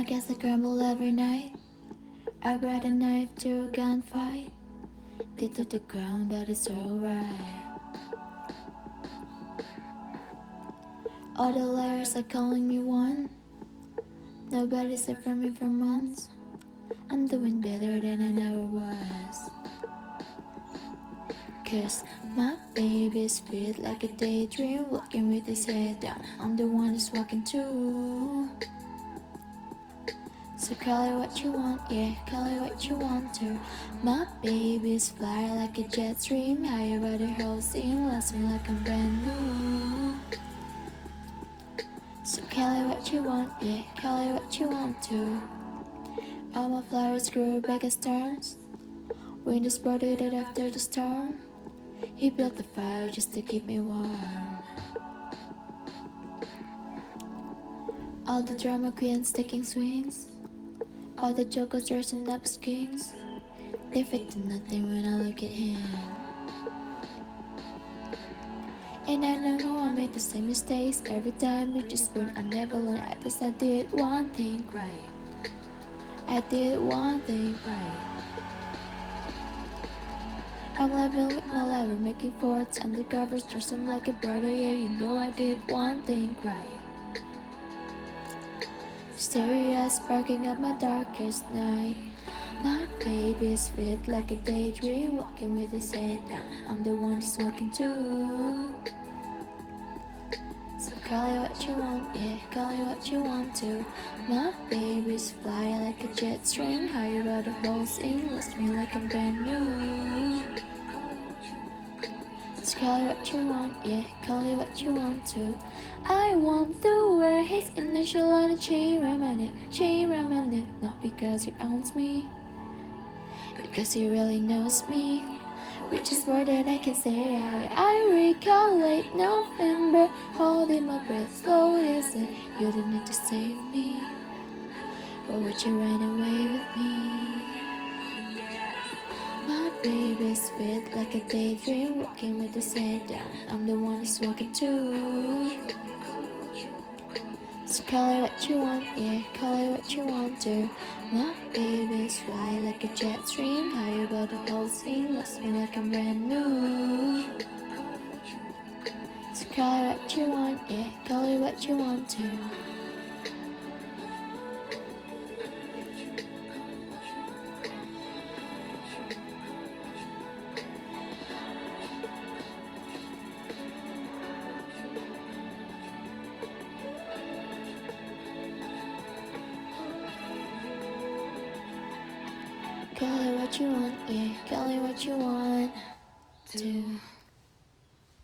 I guess I crumble every night. I grab a knife to a gunfight. Did to the ground, but it's alright. All the layers are calling me one. Nobody said from me for months. I'm doing better than I never was. Cause my baby's fit like a daydream, walking with his head down. I'm the one who's walking too. So call it what you want, yeah, call it what you want to. My baby's fly like a jet stream, higher by the whole scene, lasts me like I'm brand new. So call it what you want, yeah, call it what you want to. All my flowers grew back as stars. Wind is spotted it after the storm. He built the fire just to keep me warm. All the drama queens taking swings. All the jokers dressing up as kings. They fit to nothing when I look at him. And I know I made the same mistakes every time with just spoon. I never learned. I guess I did one thing right. I did one thing right. I'm level with my lever, making forts undercovers, dressing like a brother. Yeah, you know I did one thing right. Stereo sparking up my darkest night. My baby's fit like a daydream, walking with his head down. I'm the one who's walking too. So call it what you want, yeah, call it what you want to. My baby's fly like a jet stream, higher about the whole scene, lost me like I'm brand new. So call it what you want, yeah, call it what you want to. I want to wear his initial on a chain remnant, not because he owns me, because he really knows me. Which is more than I can say. I recall late November, holding my breath slow as it. You didn't need to save me, or would you run away with me? My baby's fit like a daydream, walking with his head down. I'm the one who's walking too. So call it what you want, yeah, call it what you want to. My baby's fly like a jet stream, higher above the whole scene, lost me like I'm brand new. So call it what you want, yeah, call it what you want to. Call it what you want, yeah, call it what you want to.